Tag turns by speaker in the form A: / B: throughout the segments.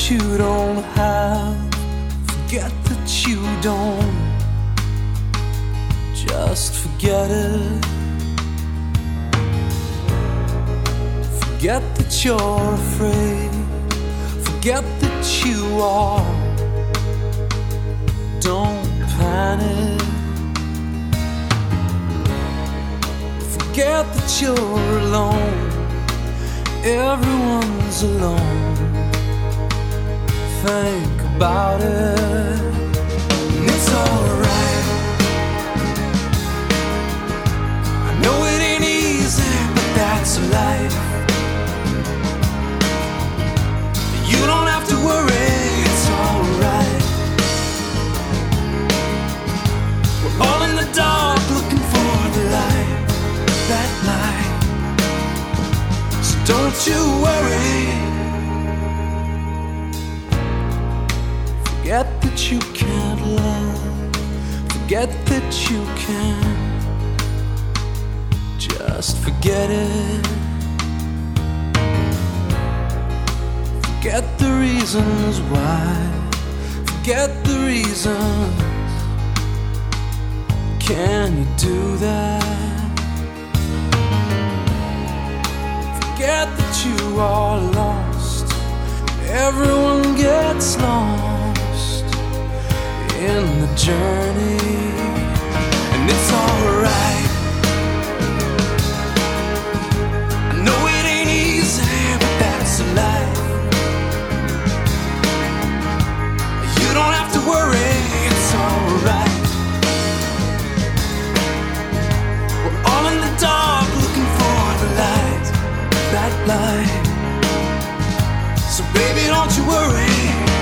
A: you don't have, forget that you don't, just forget it. Forget that you're afraid, forget that you are, don't panic. Forget that you're alone, everyone's alone. Think about it, and it's alright. I know it ain't easy, but that's life. You don't have to worry, it's alright. We're all in the dark looking for the light, that light. So don't you worry. Forget that you can't love, forget that you can't, just forget it. Forget the reasons why, forget the reasons. Can you do that? Forget that you are lost, everyone gets lost in the journey, and it's alright. I know it ain't easy, but that's life. You don't have to worry, it's alright. We're all in the dark looking for the light, that light. So baby, don't you worry.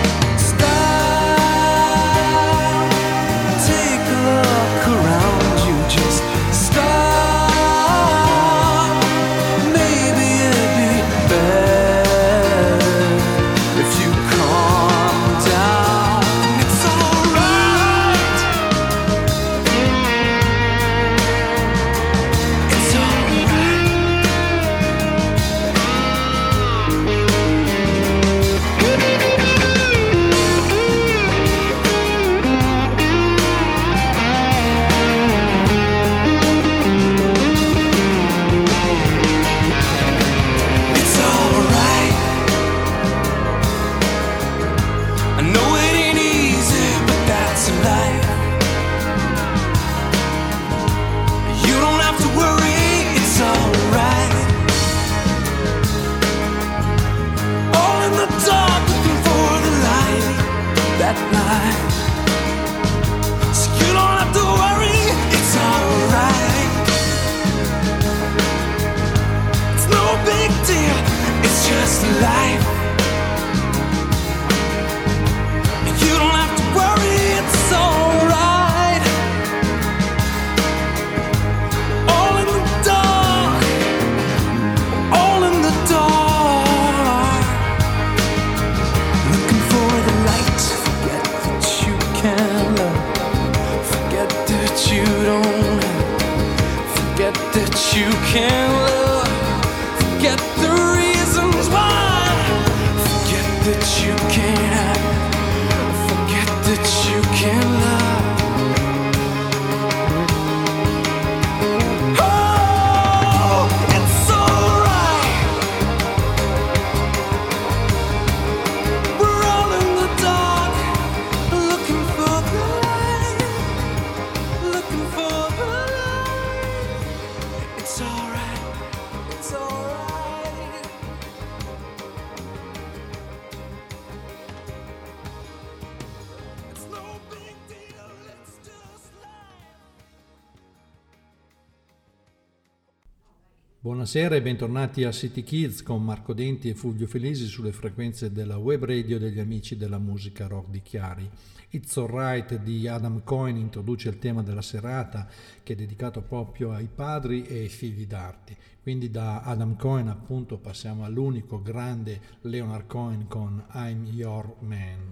A: Stop, take a look around you, just stop. Maybe it'd be better if you calm down. It's alright. It's alright. It's alright. I know it ain't easy, but that's life. You don't have to worry, it's alright. All in the dark looking for the light, that light. So you don't have to worry, it's alright. It's no big deal, it's just life. You don't have to worry, it's alright. All in the dark, all in the dark. Looking for the light, forget that you can't love, forget that you don't, forget that you can't love, forget the reasons why, forget that you can't have, forget that you can't love. Oh, it's alright. We're all in the dark, looking for the light, looking for the light. It's alright, it's alright. It's no big deal, it's just life.
B: Buonasera e bentornati a City Kids con Marco Denti e Fulvio Felisi sulle frequenze della web radio degli amici della musica rock di Chiari. It's Alright di Adam Cohen introduce il tema della serata, che è dedicato proprio ai padri e ai figli d'arte. Quindi da Adam Cohen appunto passiamo all'unico grande Leonard Cohen con I'm Your Man.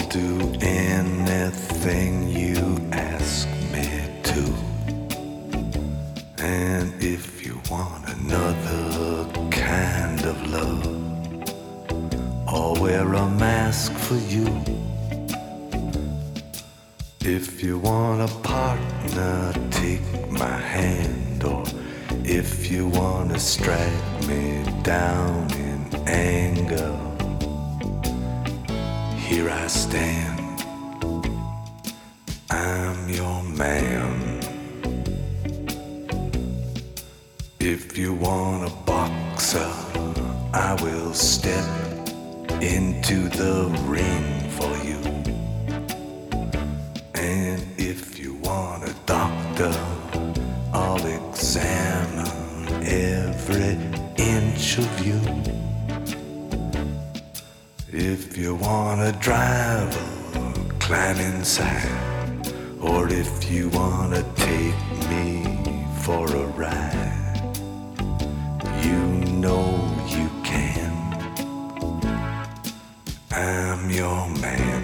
C: do anything you ask me to. And if you want another kind of love, I'll wear a mask for you. If you want a partner, take my hand. Or if you want to strike me down in anger, here I stand, I'm your man. If you want a boxer, I will step into the ring for you. And if you want a doctor, I'll examine every inch of you. If you want a driver, climb inside. Or if you want to take me for a ride, you know you can. I'm your man.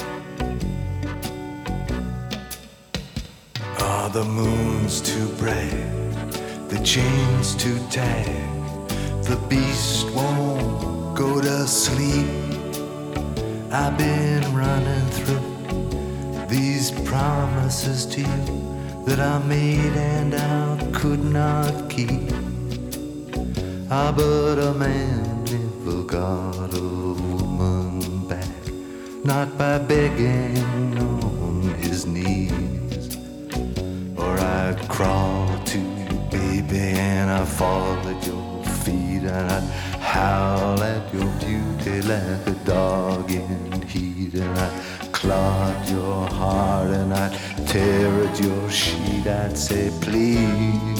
C: Are the moons too bright? The chains too tight? The beast won't go to sleep. I've been running through these promises to you that I made and I could not keep. Ah, but a man never got a woman back, not by begging on his knees. Or I'd crawl to you, baby, and I'd fall at your feet, and I'd howl at your beauty like a dog in heat, and I'd claw at your heart, and I'd tear at your sheet. I'd say, please,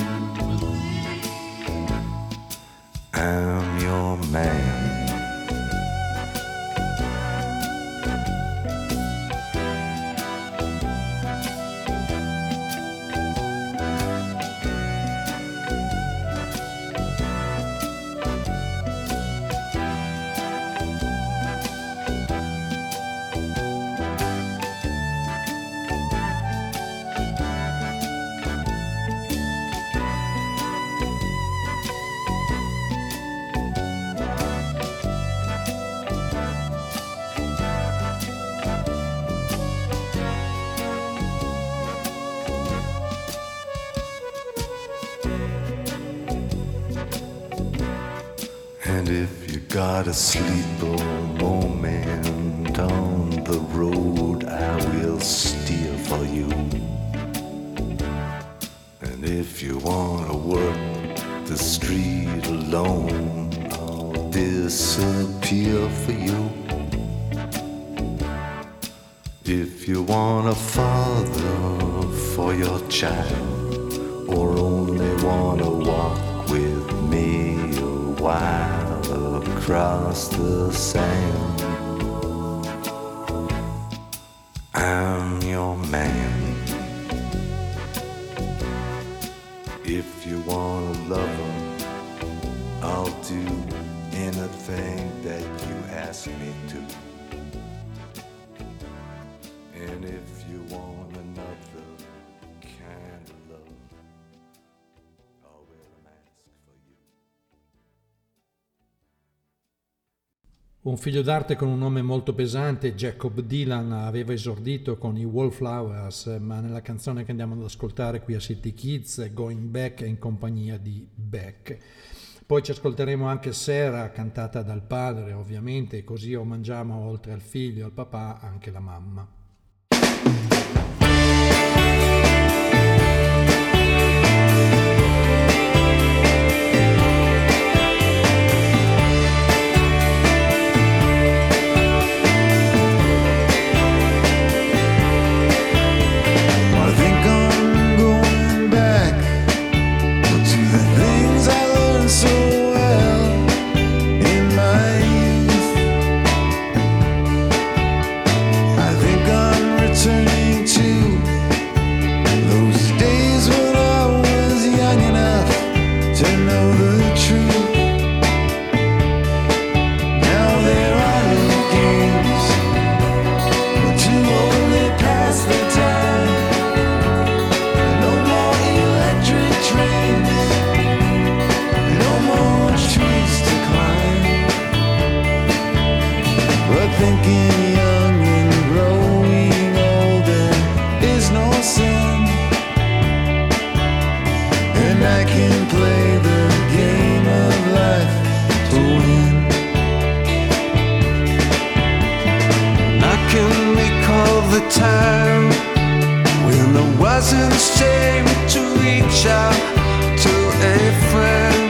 C: I'm your man. And if you got a sleeper moment on the road, I will steer for you. And if you wanna work the street alone, I'll disappear for you. If you want a father for your child, or only wanna walk with me a while across the sand, I'm your man. If you want a lover, I'll do anything that you ask me to. And if you want another kind of love, I'll wear a mask for you.
B: Un figlio d'arte con un nome molto pesante, Jacob Dylan, aveva esordito con i Wallflowers, ma nella canzone che andiamo ad ascoltare qui a City Kids, Going Back, è in compagnia di Beck. Poi ci ascolteremo anche Sarah, cantata dal padre ovviamente, così omaggiamo oltre al figlio e al papà anche la mamma.
C: I think time when there wasn't shame to reach out to a friend.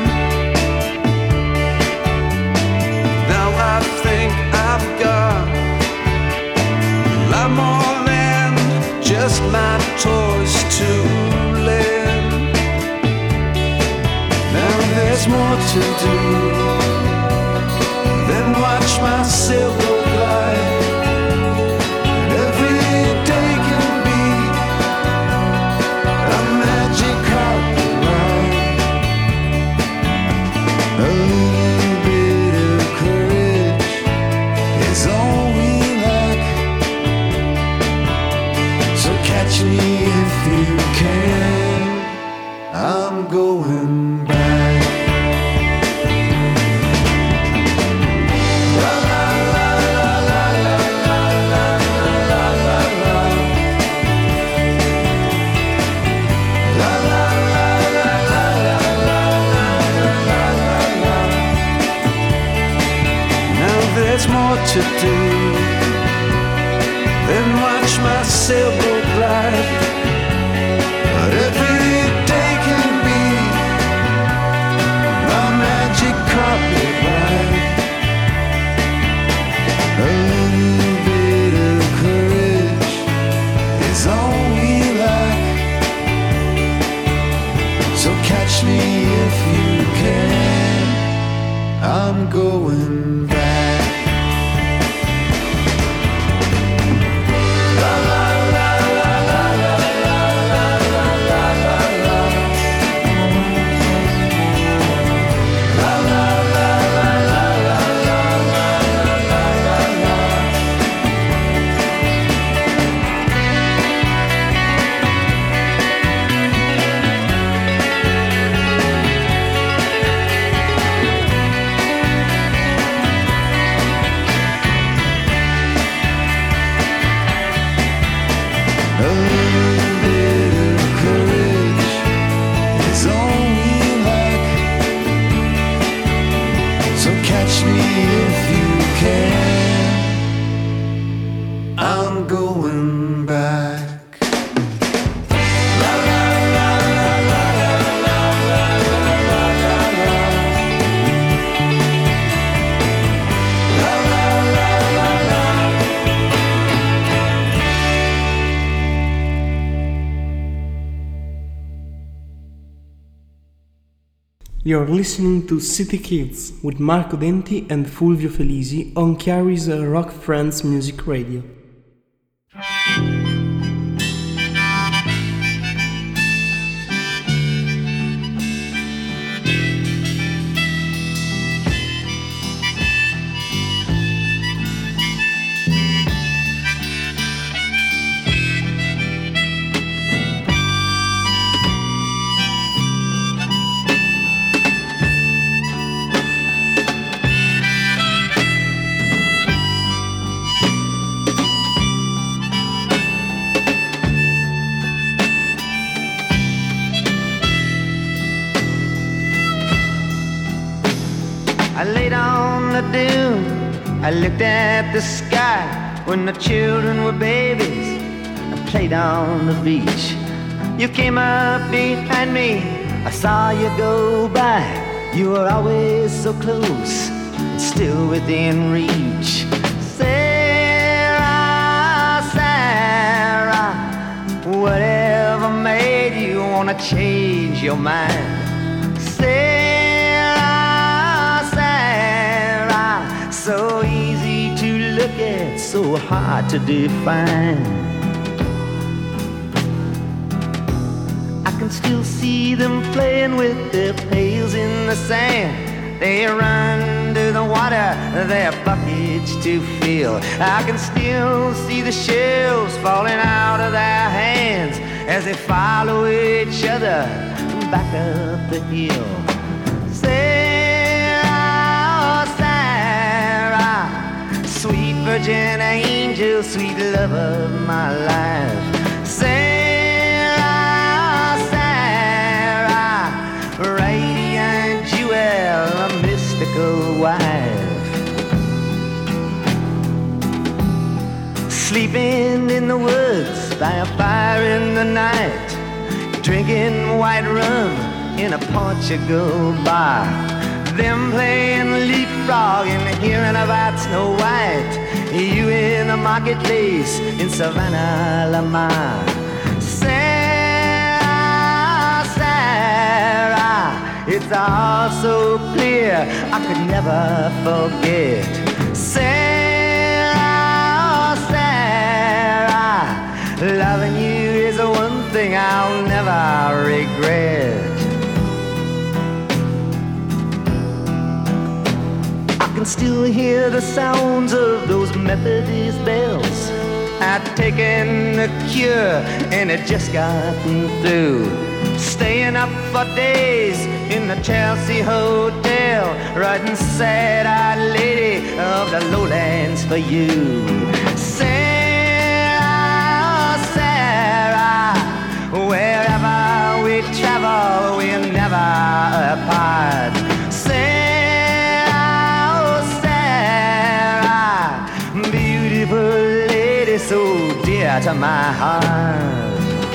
C: Now I think I've got a lot more than just my toys to lend. Now there's more to do than watch my sailboat glide. Every day can be a magic carpet ride. A little bit of courage is all we lack. So catch me if you can. I'm going back. There's more to do than watch my sailboat glide. But every day can be a magic carpet ride. A little bit of courage is all we lack. So catch me if you can. I'm going back.
D: You're listening to City Kids with Marco Denti and Fulvio Felisi on Chiari's Rock Friends Music Radio.
E: I laid on the dune, I looked at the sky when the children were babies. I played on the beach. You came up behind me, I saw you go by. You were always so close, and still within reach. Sarah, Sarah, whatever made you wanna change your mind? So easy to look at, so hard to define. I can still see them playing with their pails in the sand. They run to the water, their buckets to fill. I can still see the shells falling out of their hands as they follow each other back up the hill. Sweet virgin angel, sweet love of my life. Sarah, Sarah, radiant jewel, a mystical wife. sleeping in the woods by a fire in the night, drinking white rum in a Portugal bar, them playing leapfrog and hearing about Snow White, you in the marketplace in Savannah, Lamar. Sarah, Sarah, it's all so clear I could never forget. Sarah, Sarah, loving you is the one thing I'll never regret. I can still hear the sounds of those Methodist bells. I'd taken the cure and it just gotten through. Staying up for days in the Chelsea Hotel, writing sad-eyed lady of the lowlands for you. Sarah, Sarah, wherever we travel, we're never apart. Sarah, Sarah, beautiful lady, so dear to my heart.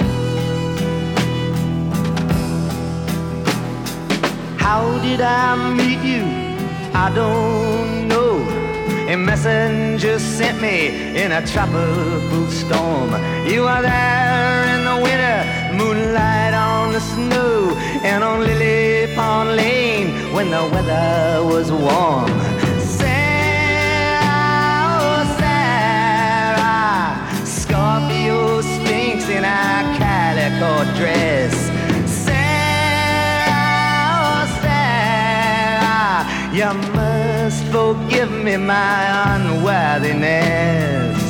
E: How did I meet you? I don't know. A messenger sent me in a tropical storm. You were there in the winter, moonlight on the snow, and on Lily Pond Lane when the weather was warm. Sarah, Sarah, Scorpio Sphinx in a calico dress. You must forgive me my unworthiness.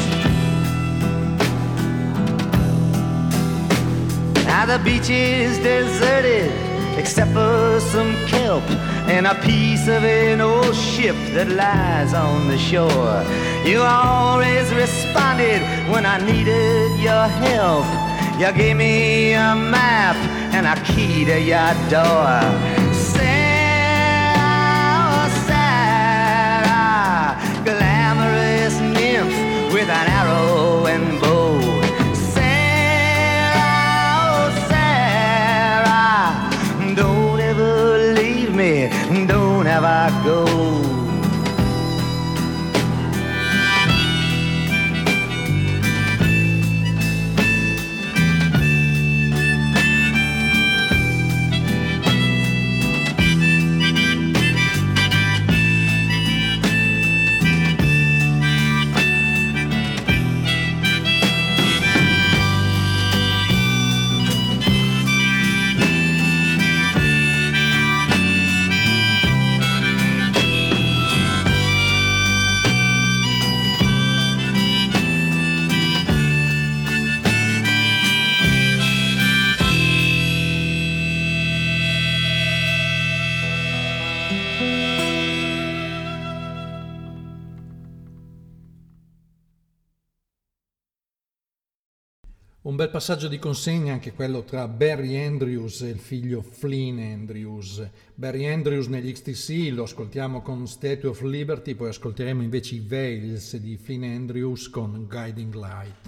E: Now the beach is deserted except for some kelp and a piece of an old ship that lies on the shore. You always responded when I needed your help. You gave me a map and a key to your door. Glamorous nymph with an arrow and bow. Sarah, Sarah, don't ever leave me, don't ever go.
B: Un bel passaggio di consegna anche quello tra Barry Andrews e il figlio Flynn Andrews. Barry Andrews negli XTC lo ascoltiamo con Statue of Liberty, poi ascolteremo invece i Veils di Flynn Andrews con Guiding Light.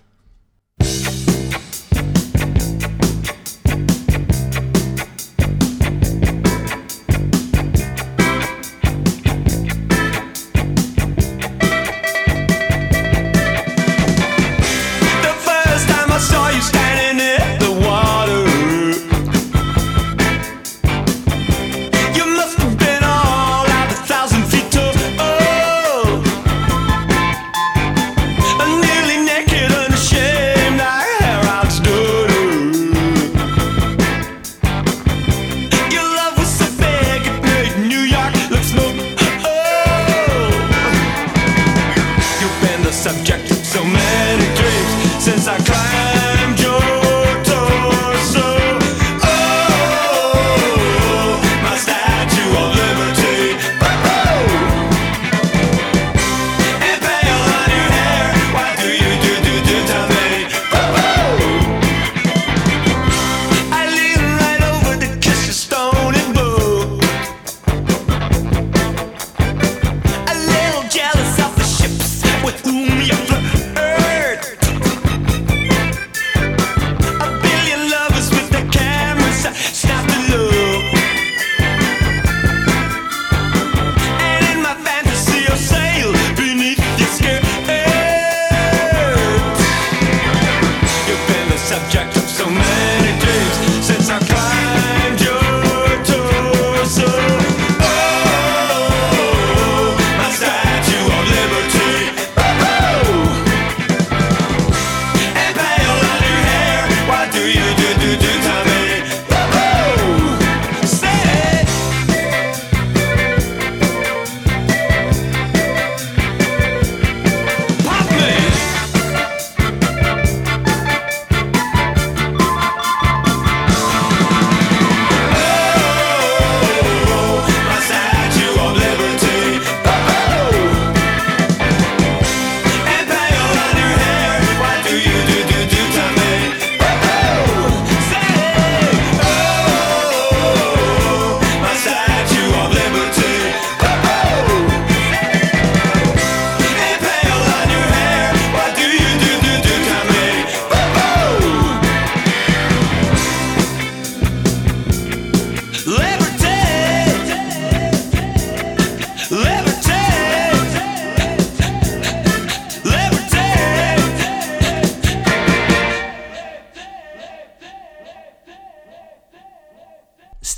F: Nearly naked, unashamed, I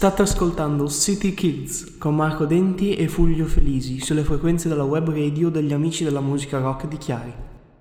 D: State ascoltando City Kids con Marco Denti e Fulvio Felisi sulle frequenze della web radio degli amici della musica rock di Chiari.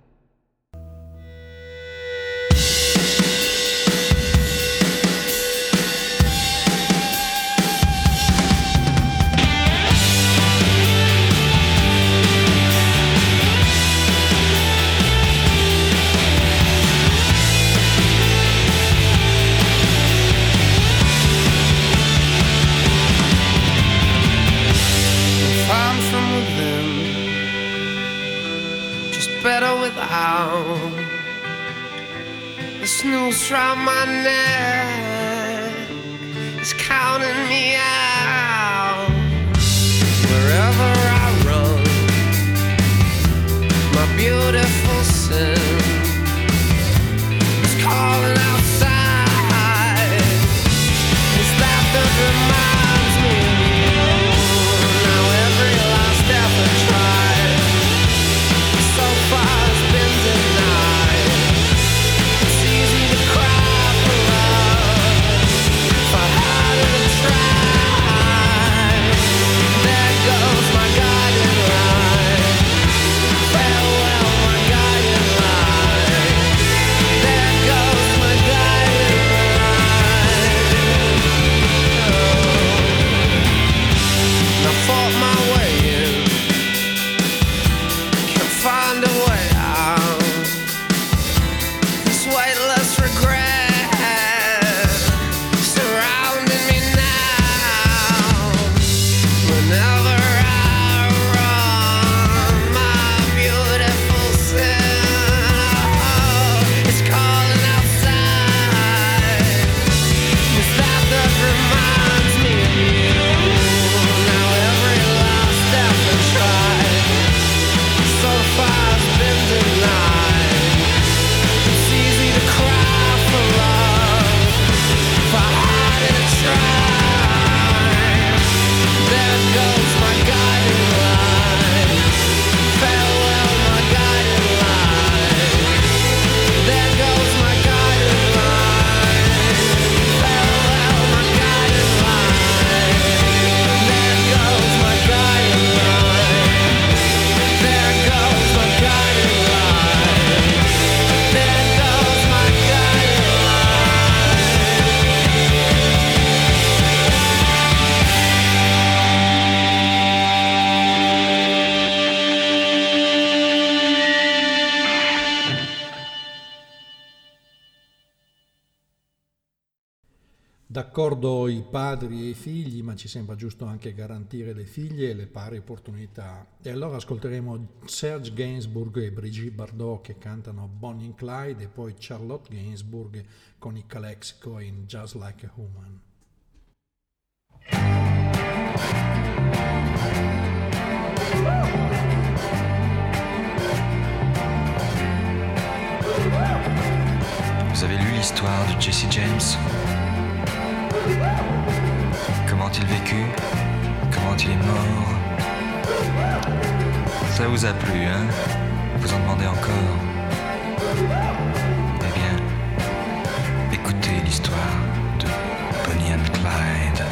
G: Better without the snooze round my neck is counting me out. Wherever I run, my beautiful sin is calling outside. Is that that reminds me of you? Now every last effort tried so far has been denied. It's easy to cry for love if I hadn't tried. There goes my guiding light. Farewell, my guiding light. There goes my guiding light. Oh. I fought my way in, can't find a way out. This weightless regret surrounding me now. Whenever I run, my beautiful self is calling outside. It's that reminds me of you. Now every last effort tried so far has been denied. It's easy to cry for love if I hadn't tried. There goes my guiding light. Farewell, my guiding light. There goes my guiding light. Farewell, my guiding light. There goes my guiding light. There goes my guiding light. There goes my guiding
B: D'accordo i padri e i figli, ma ci sembra giusto anche garantire le figlie e le pari opportunità. E allora ascolteremo Serge Gainsbourg e Brigitte Bardot che cantano Bonnie and Clyde e poi Charlotte Gainsbourg con i Calexico in Just Like a Woman.
H: Vous avez lu l'histoire de Jesse James? Comment il vécut? Comment il est mort? Ça vous a plu, hein? Vous en demandez encore? Eh bien, écoutez l'histoire de Bonnie and Clyde.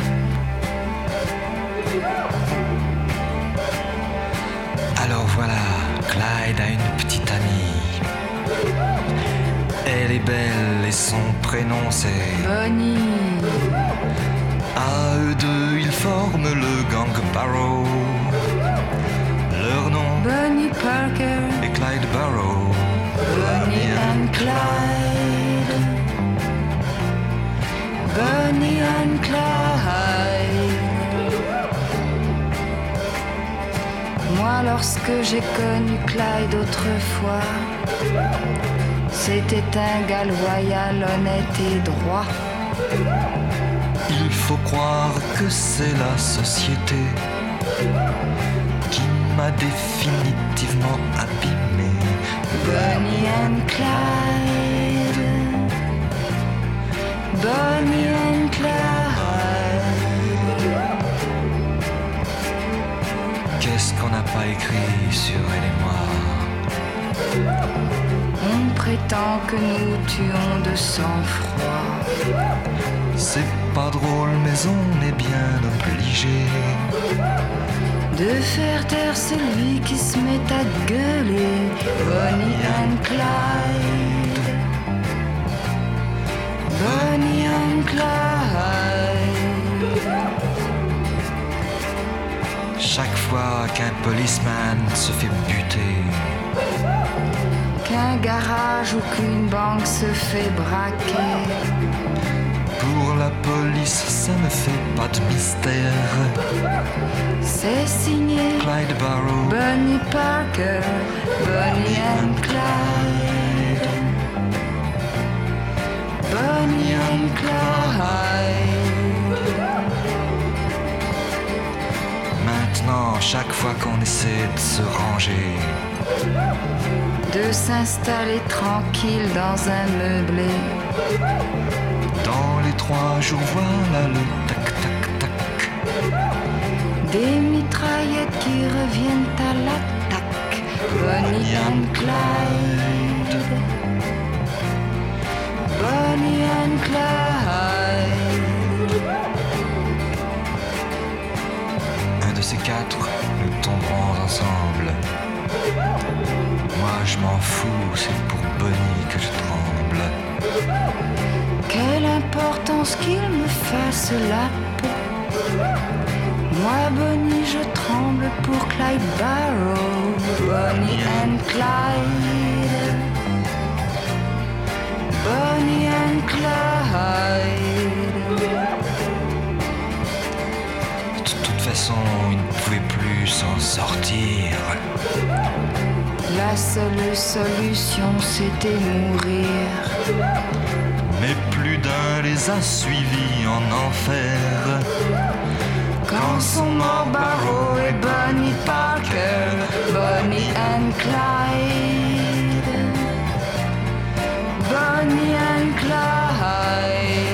H: Alors voilà, Clyde a une petite amie. Elle est belle et son prénom c'est
I: Bonnie.
H: À eux deux, ils forment le gang Barrow. Leur nom
I: Bonnie Parker
H: est Clyde Barrow.
I: Bonnie and Clyde. Bonnie and Clyde. Moi, lorsque j'ai connu Clyde autrefois, c'était un gars loyal, honnête et droit.
H: Il faut croire que c'est la société qui m'a définitivement abîmé.
I: Bonnie and Clyde. Bonnie and Clyde.
H: Qu'est-ce qu'on n'a pas écrit sur elle et moi?
I: On prétend que nous tuons de sang-froid.
H: C'est pas drôle, mais on est bien obligé
I: de faire taire celui qui se met à gueuler. Bonnie and Clyde, Bonnie and Clyde.
H: Chaque fois qu'un policeman se fait buter,
I: qu'un garage ou qu'une banque se fait braquer,
H: pour la police ça ne fait pas de mystère.
I: c'est signé
H: Clyde Barrow,
I: Bonnie Parker, Bonnie and Clyde, Bonnie and Clyde.
H: Maintenant, chaque fois qu'on essaie de se ranger,
I: de s'installer tranquille dans un meublé,
H: dans les 3 jours, voilà le tac-tac-tac,
I: des mitraillettes qui reviennent à l'attaque. Bonnie and Clyde, Bonnie and Clyde.
H: un de ces 4, nous tomberons ensemble. Moi je m'en fous, c'est pour Bonnie que je tremble.
I: Quelle importance qu'il me fasse la peau. Moi, Bonnie, je tremble pour Clyde Barrow. Bonnie and Clyde, Bonnie and Clyde.
H: De toute façon, il ne pouvait plus s'en sortir.
I: La seule solution, c'était mourir.
H: Mais plus d'un les a suivis en enfer.
I: Quand sont morts Barrow et Bonnie Parker, Bonnie and Clyde, Bonnie and Clyde.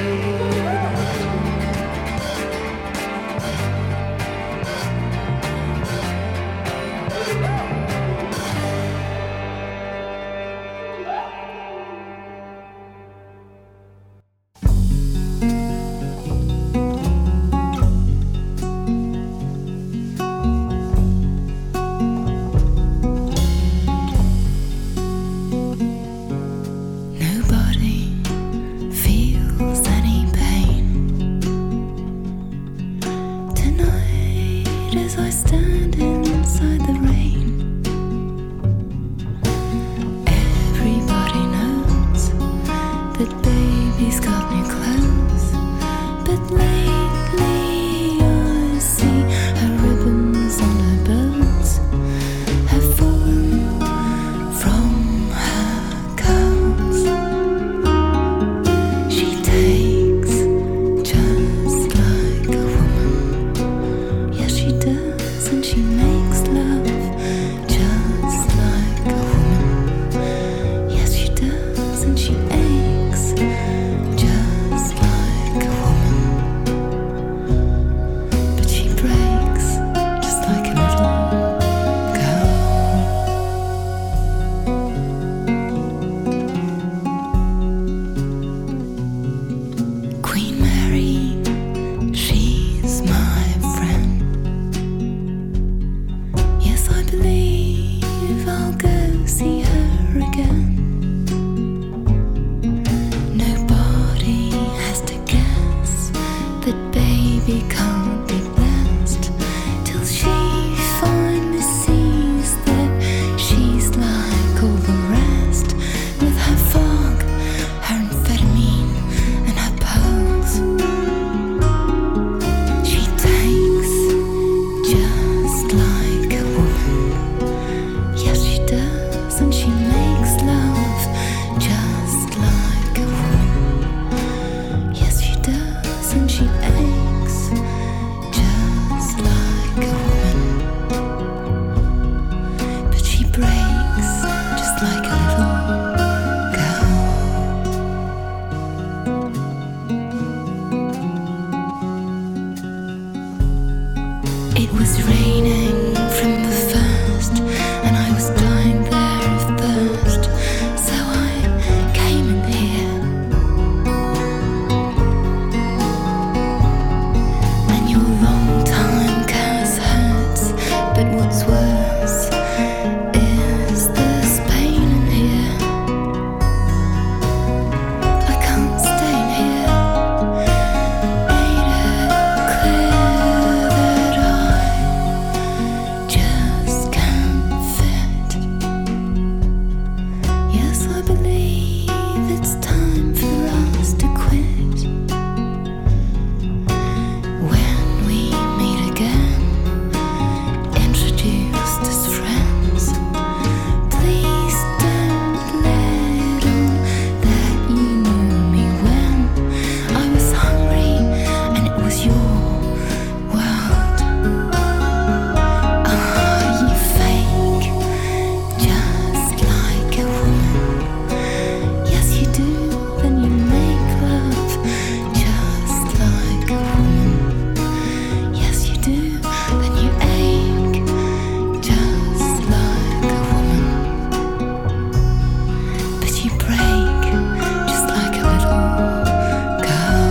I: break, just like a little girl.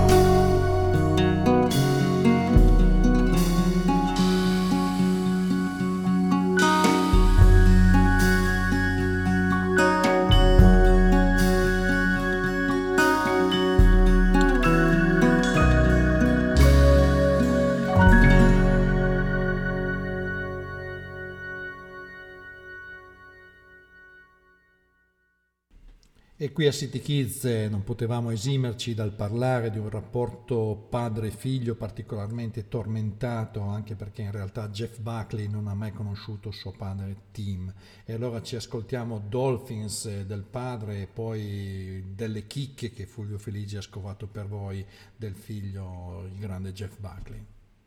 B: E qui a City Kids non potevamo esimerci dal parlare di un rapporto padre-figlio particolarmente tormentato, anche perché in realtà Jeff Buckley non ha mai conosciuto suo padre Tim. E allora ci ascoltiamo Dolphins del padre e poi delle chicche che Fulvio Feligi ha scovato per voi del figlio, il grande Jeff Buckley.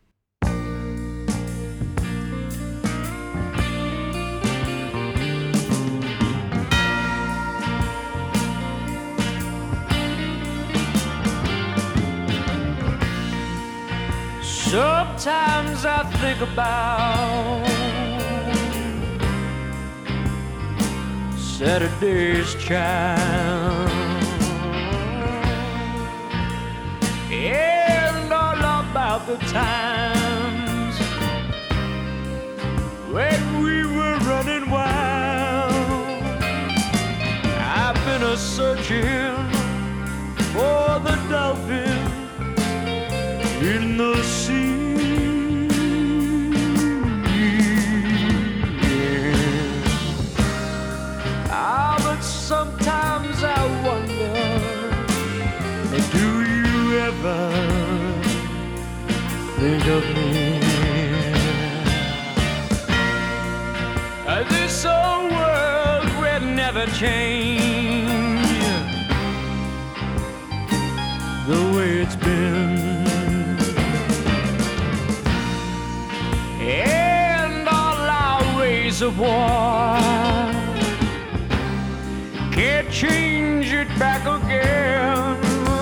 A: Sometimes I think about Saturday's Child and all about the times when we were running wild. I've been a-searching for the dolphin in the sea. Ah, but sometimes I wonder, do you ever think of me? This old world will never change the way it's been. And all our ways of war can't change it back again.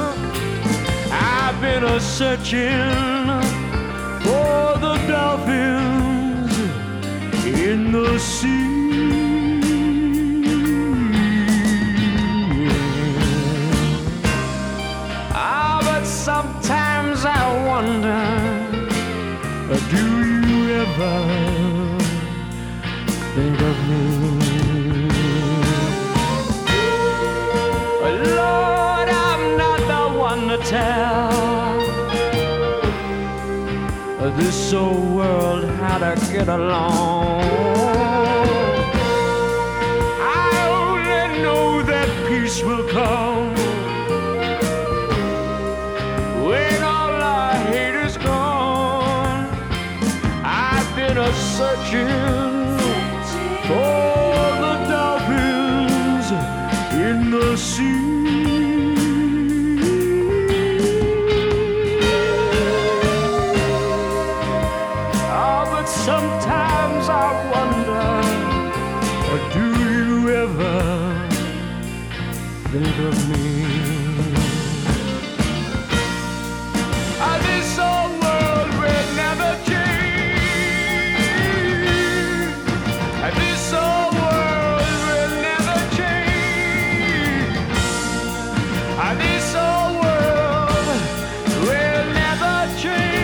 A: I've been a-searching for the dolphins in the sea. Ah, but sometimes I wonder, do you ever think of me? Lord, I'm not the one to tell this old world how to get along. I only know that peace will come when all our hate is gone. I've been a-searching for the dolphins in the sea. Sometimes I wonder, do you ever think of me? This old world will never change. This old world will never change. This old world will never change.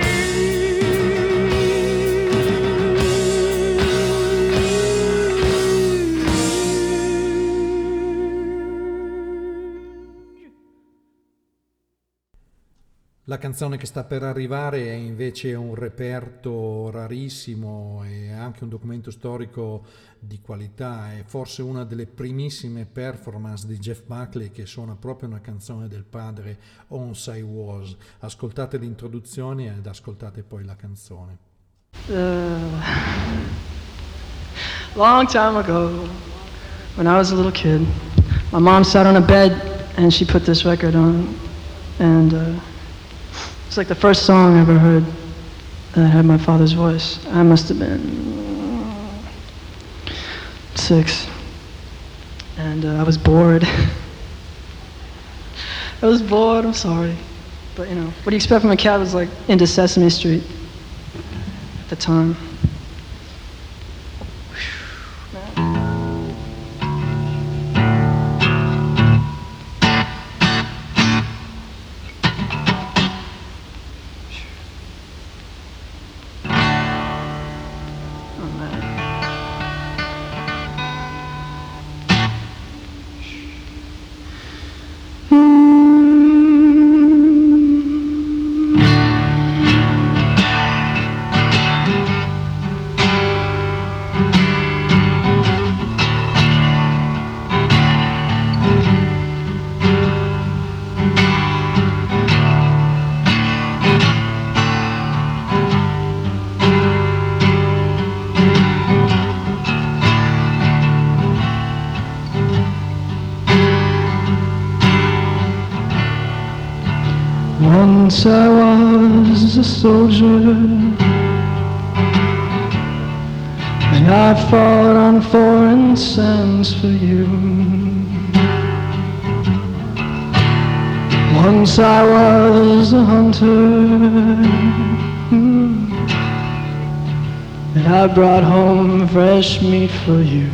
B: La canzone che sta per arrivare è invece un reperto rarissimo e anche un documento storico di qualità. È forse una delle primissime performance di Jeff Buckley che suona proprio una canzone del padre, Once I Was. Ascoltate l'introduzione ed ascoltate poi la canzone.
J: Long time ago, when I was a little kid, my mom sat on a bed and she put this record on, and it's like the first song I ever heard that had my father's voice. I must have been 6, and I was bored. I was bored, I'm sorry. But you know, what do you expect from a cat who was like into Sesame Street at the time? Once I was a soldier, and I fought on foreign sands for you. Once I was a hunter, and I brought home fresh meat for you.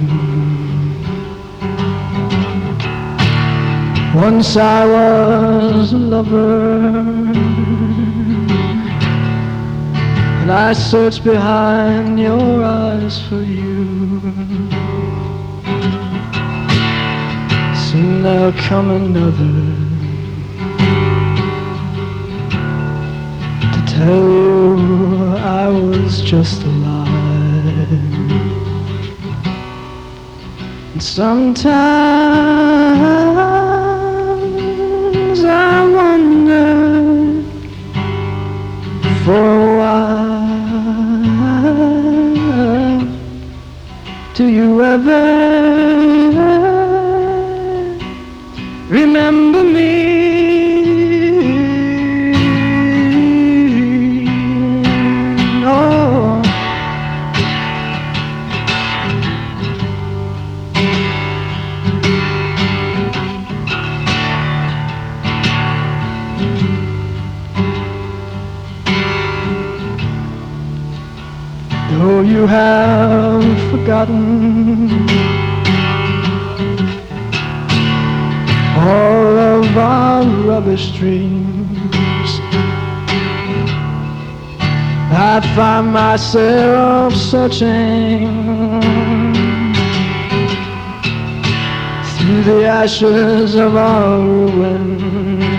J: Once I was a lover, and I searched behind your eyes for you. Soon there'll come another to tell you I was just alive. And sometimes I wonder for a while, do you ever remember me? Oh. Though you have forgotten all of our rubbish dreams, I find myself searching through the ashes of our ruins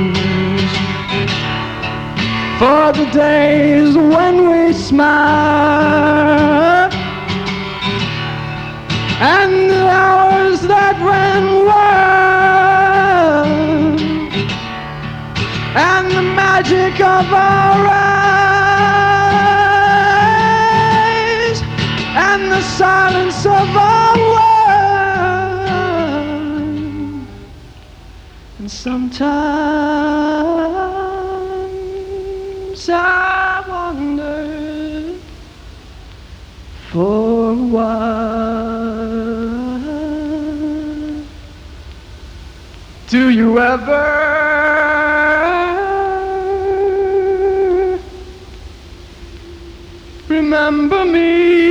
J: for the days when we smiled and the hours that ran wild and the magic of our eyes and the silence of our world. And sometimes I wonder for a while, do you ever remember me?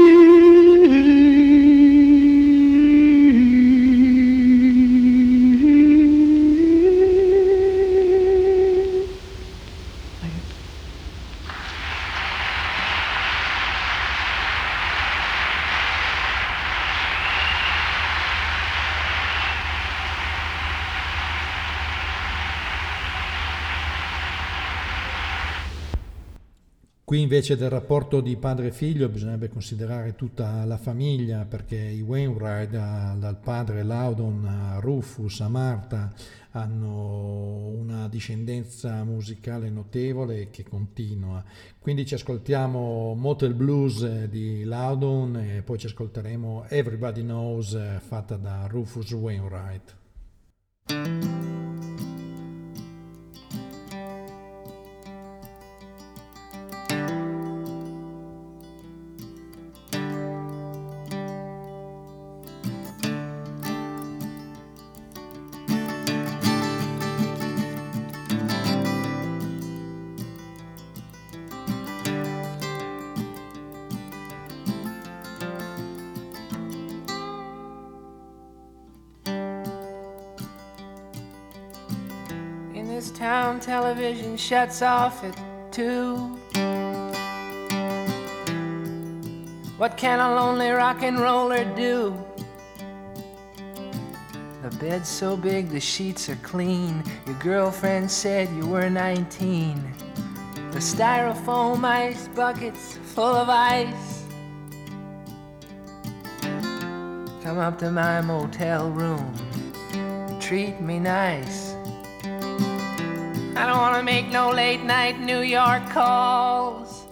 B: Qui invece del rapporto di padre e figlio bisognerebbe considerare tutta la famiglia, perché i Wainwright, dal padre Loudon a Rufus a Martha, hanno una discendenza musicale notevole che continua. Quindi ci ascoltiamo Motel Blues di Loudon e poi ci ascolteremo Everybody Knows fatta da Rufus Wainwright.
K: Town television shuts off at 2. What can a lonely rock and roller do? The bed's so big, the sheets are clean. Your girlfriend said you were 19. The styrofoam ice bucket's full of ice. Come up to my motel room, treat me nice. I don't want to make no late night New York calls.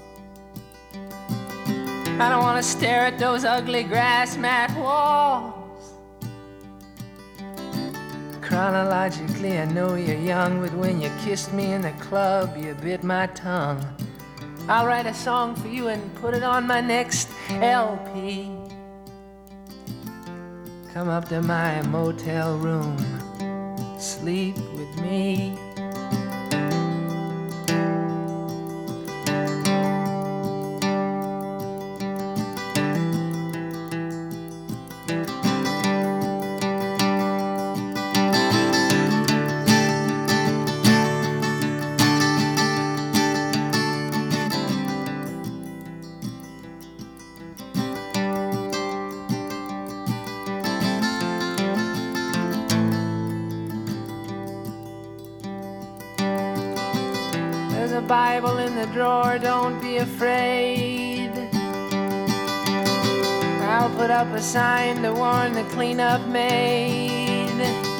K: I don't want to stare at those ugly grass mat walls. Chronologically, I know you're young, but when you kissed me in the club, you bit my tongue. I'll write a song for you and put it on my next LP. Come up to my motel room, sleep with me. Bible in the drawer, don't be afraid. I'll put up a sign to warn the cleanup maid.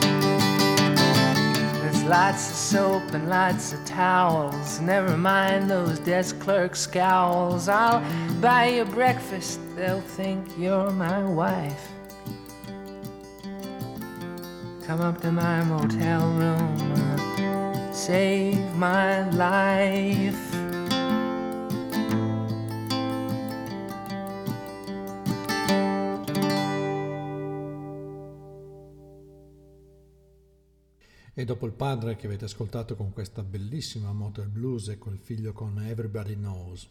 K: There's lots of soap and lots of towels. Never mind those desk clerk scowls. I'll buy you breakfast, they'll think you're my wife. Come up to my motel room, save my life.
B: E dopo il padre che avete ascoltato con questa bellissima motel blues e col figlio con Everybody Knows.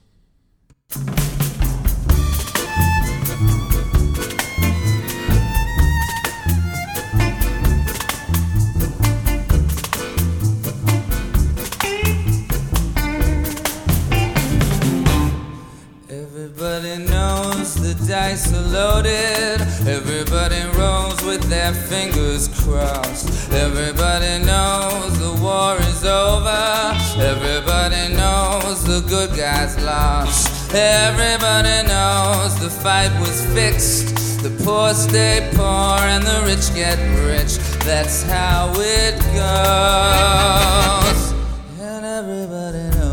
L: Everybody knows the dice are loaded. Everybody rolls with their fingers crossed. Everybody knows the war is over. Everybody knows the good guys lost. Everybody knows the fight was fixed. The poor stay poor and the rich get rich. That's how it goes. And everybody knows.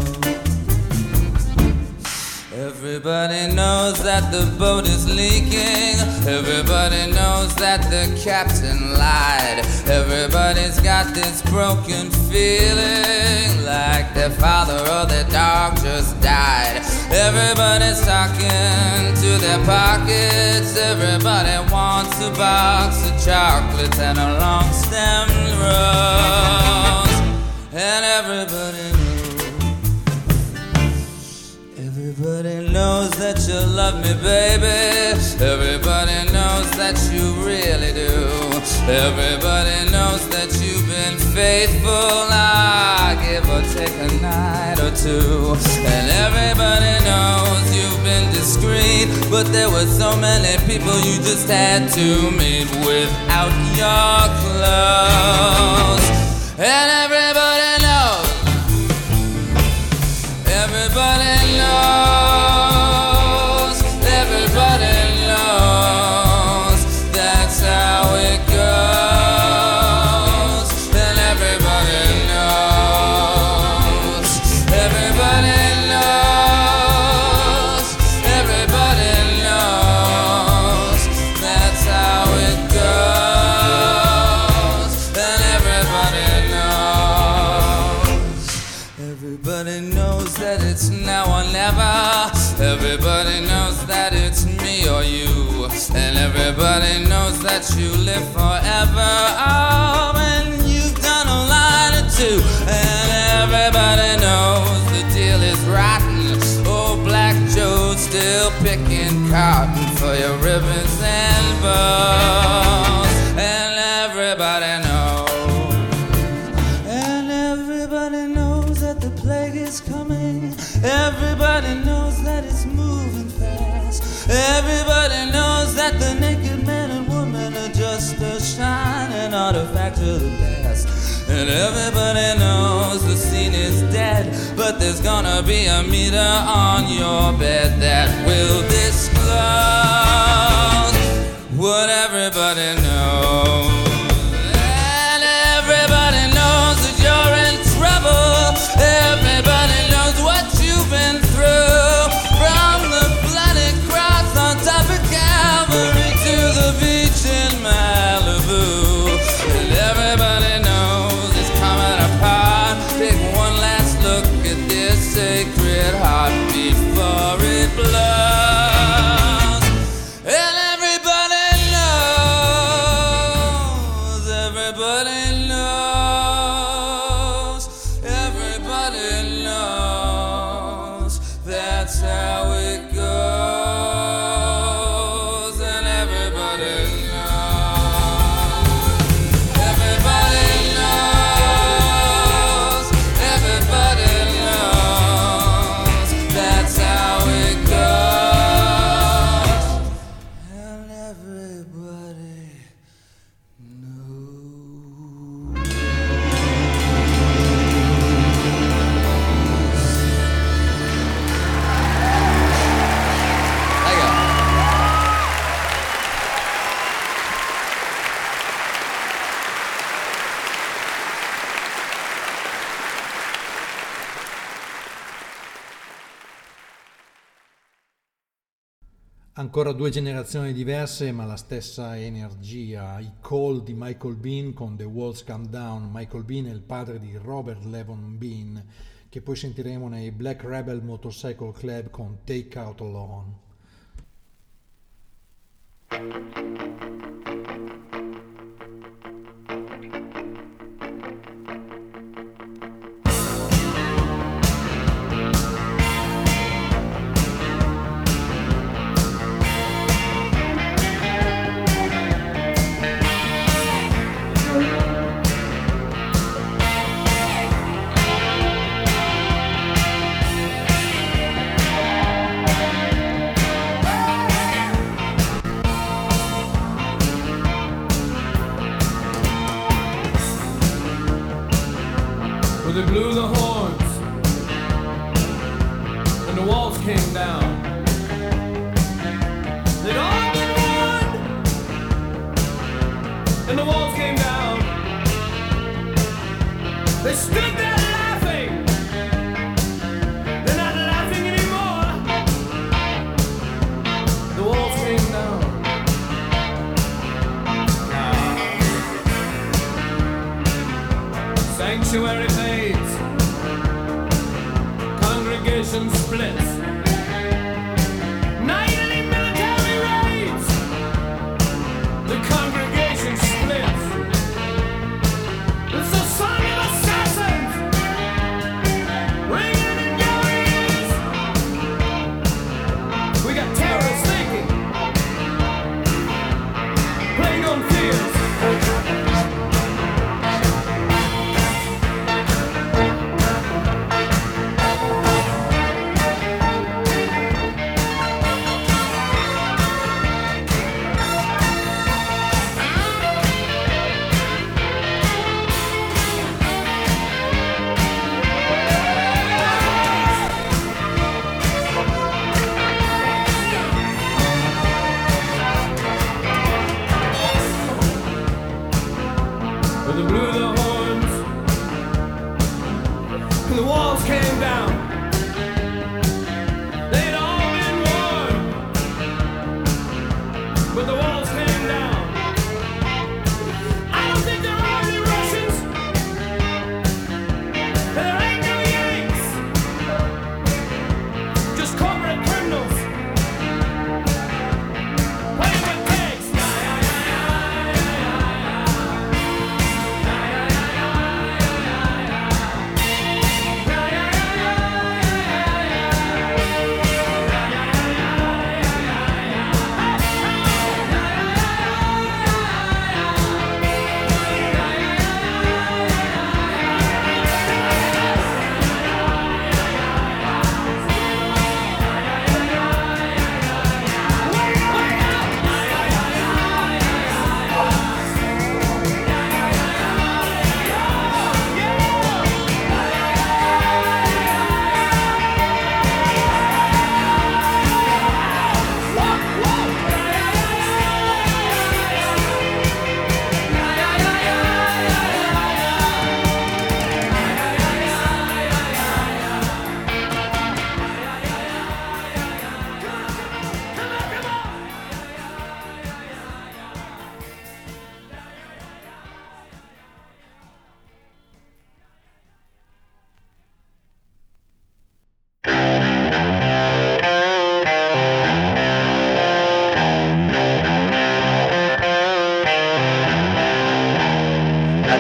L: Everybody knows that the boat is leaking. Everybody knows that the captain lied. Everybody's got this broken feeling like their father or their dog just died. Everybody's talking to their pockets. Everybody wants a box of chocolates and a long stemmed rose. And everybody Everybody knows that you love me, baby. Everybody knows that you really do. Everybody knows that you've been faithful. I give or take a night or two. And everybody knows you've been discreet, but there were so many people you just had to meet without your clothes. And everybody knows. Everybody knows, everybody knows, that's how it goes. And everybody knows, everybody knows, everybody knows, that's how it goes. And everybody knows, everybody knows that it's now or never. Everybody knows that it's me or you. And everybody knows that you live forever. Oh, and you've done a line or two. And everybody knows the deal is rotten. Oh, Black Joe's still picking cotton for your ribbons and bows. And everybody knows. And everybody knows that the plague is coming. Everybody knows that it's moving fast. Everybody knows that the naked man and woman are just a shining artifact of the past. And everybody knows the scene is dead, but there's gonna be a meter on your bed that will disclose what everybody knows. And everybody knows that you're in trouble. Everybody knows what you've been through, from the bloody cross on top of Calvary to the beach in Malibu. And everybody Everybody knows that's how it goes, and everybody knows that's how it goes, and everybody
B: Ancora due generazioni diverse ma la stessa energia, i Call di Michael Bean con The Walls Come Down. Michael Bean è il padre di Robert Levon Bean, che poi sentiremo nei Black Rebel Motorcycle Club con Take Out Alone.
F: They blew the horns and the walls came down. They'd all been won and the walls came down. They stood there laughing. They're not laughing anymore. The walls came down. Sanctuary fades, congregation splits, nightly military raids, the congregation splits. It's the song of assassins ringing in your ears. We got terrorists thinking, playing on fears. They blew the horns and the walls came down. They'd all been won, but the walls came down. I don't think there are any Russians. There ain't no Yanks. Just corporate criminals playing with pigs.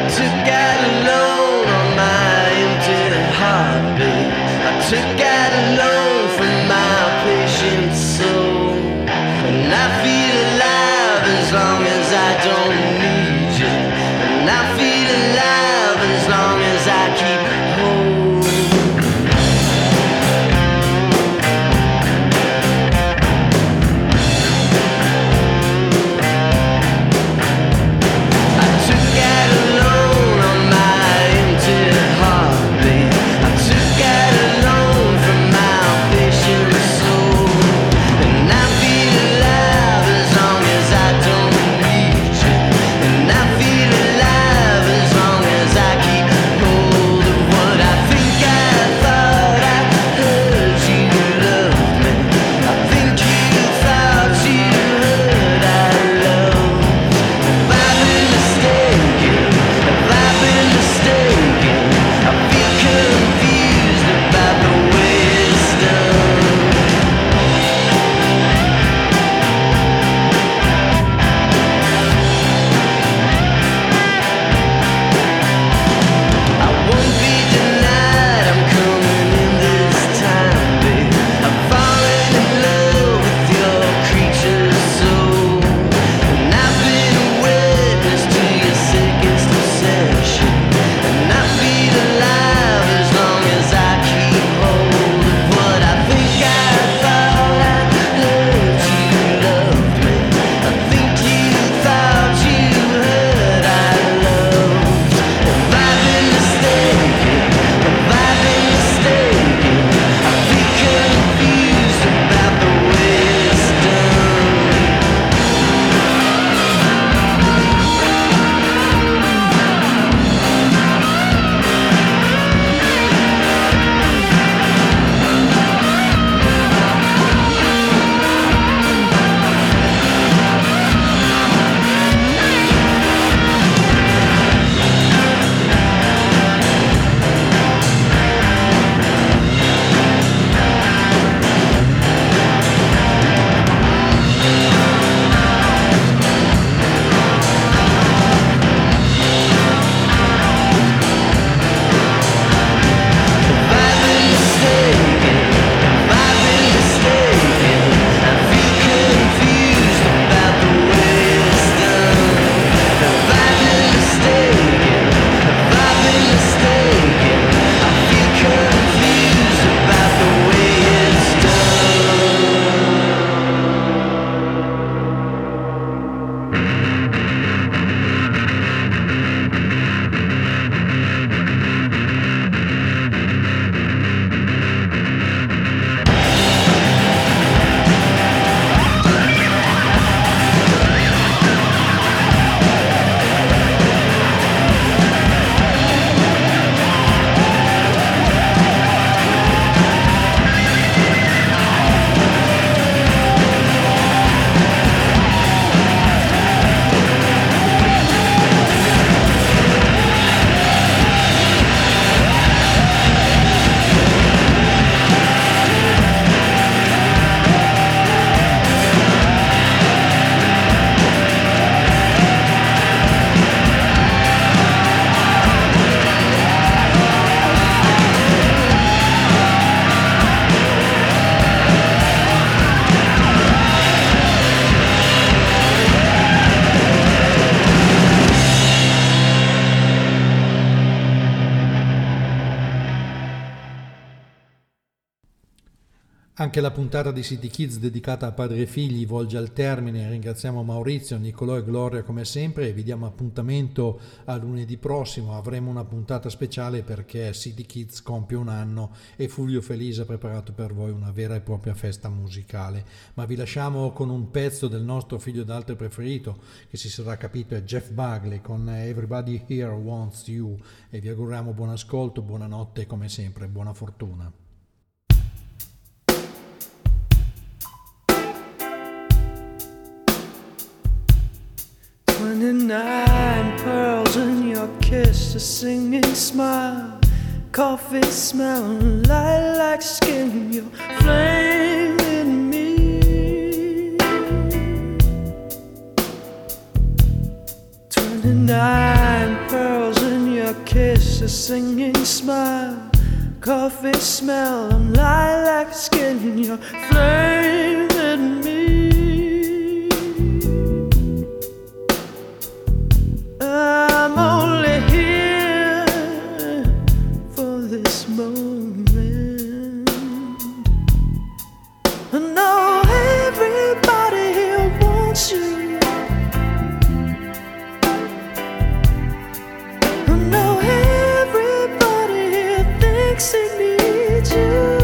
M: took out a loan on my empty heart, babe. I took out a loan from my patient soul. And I feel alive as long as I don't need you. And I feel alive as long as I keep hold.
B: Anche la puntata di City Kids dedicata a padri e figli volge al termine. Ringraziamo Maurizio, Nicolò e Gloria come sempre e vi diamo appuntamento a lunedì prossimo. Avremo una puntata speciale perché City Kids compie un anno e Fulvio Felice ha preparato per voi una vera e propria festa musicale. Ma vi lasciamo con un pezzo del nostro figlio d'altri preferito, che si sarà capito è Jeff Buckley con Everybody Here Wants You, e vi auguriamo buon ascolto, buonanotte e come sempre buona fortuna.
A: 29 pearls in your kiss, a singing smile, coffee smelling, lilac skin, you're flaming me. 29 pearls face, a singing smile, coffee smell, and lilac skin. You're flaming me. I'm only here for this moment. I know everybody here wants you. He needs you.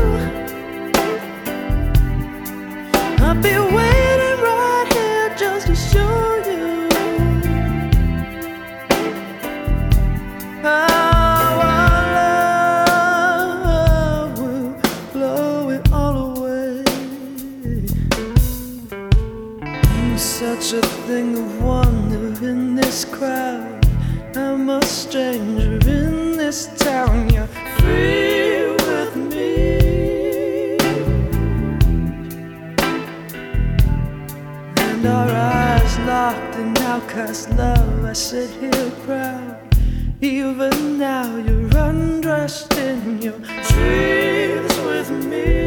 A: I'll be waiting right here just to show you how our love will blow it all away. Such a thing of wonder in this crowd. I'm a stranger in this town. You're free with me, and our eyes locked in outcast love. I sit here proud. Even now you're undressed in your dreams with me.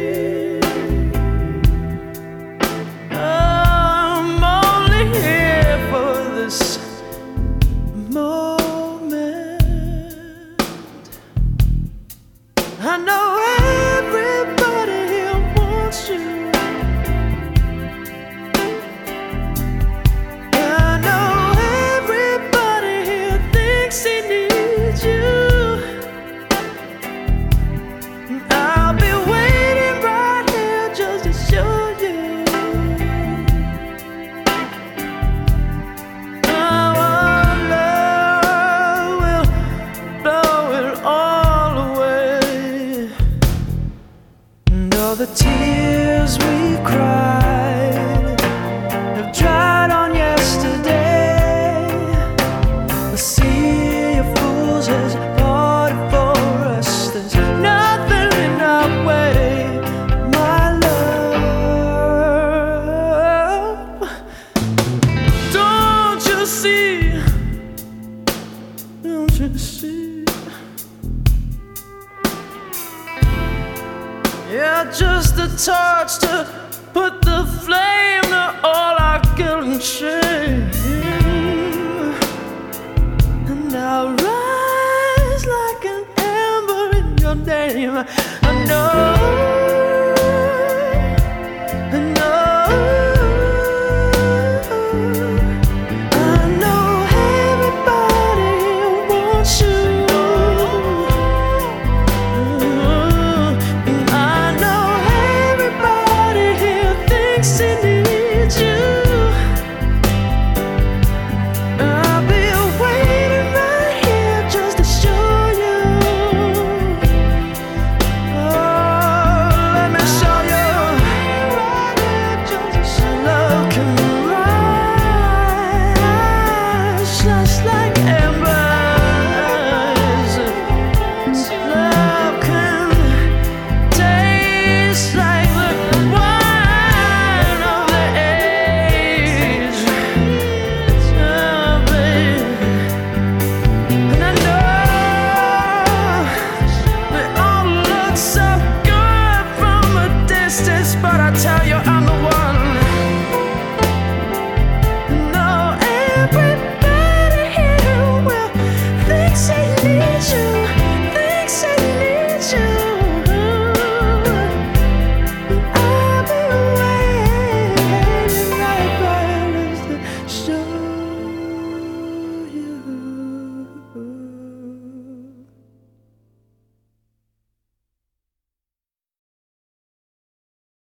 A: I'm only here for this moment. I know everybody here wants you. I know everybody here thinks he needs you. I'll be waiting right here just to show you how our love will blow it all away. All the tears we cried have dried on yesterday. The sea of fools has parted for us. There's nothing in our way, my love. Don't you see? Don't you see? Yeah, just a torch to put the flame to all our guilt and shame. And I'll rise like an ember in your name. I know